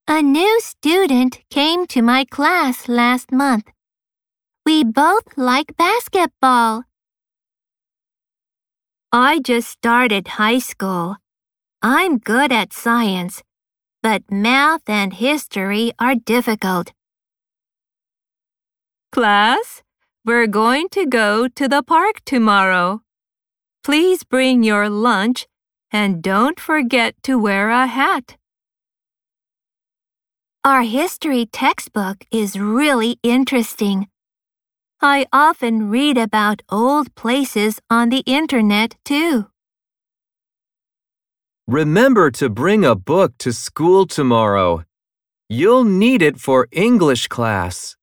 A new student came to my class last month. We both like basketball. I just started high school. I'm good at science, but math and history are difficult. Class, we're going to go to the park tomorrow. Please bring your lunch and don't forget to wear a hat. Our history textbook is really interesting. I often read about old places on the internet too. Remember to bring a book to school tomorrow. You'll need it for English class.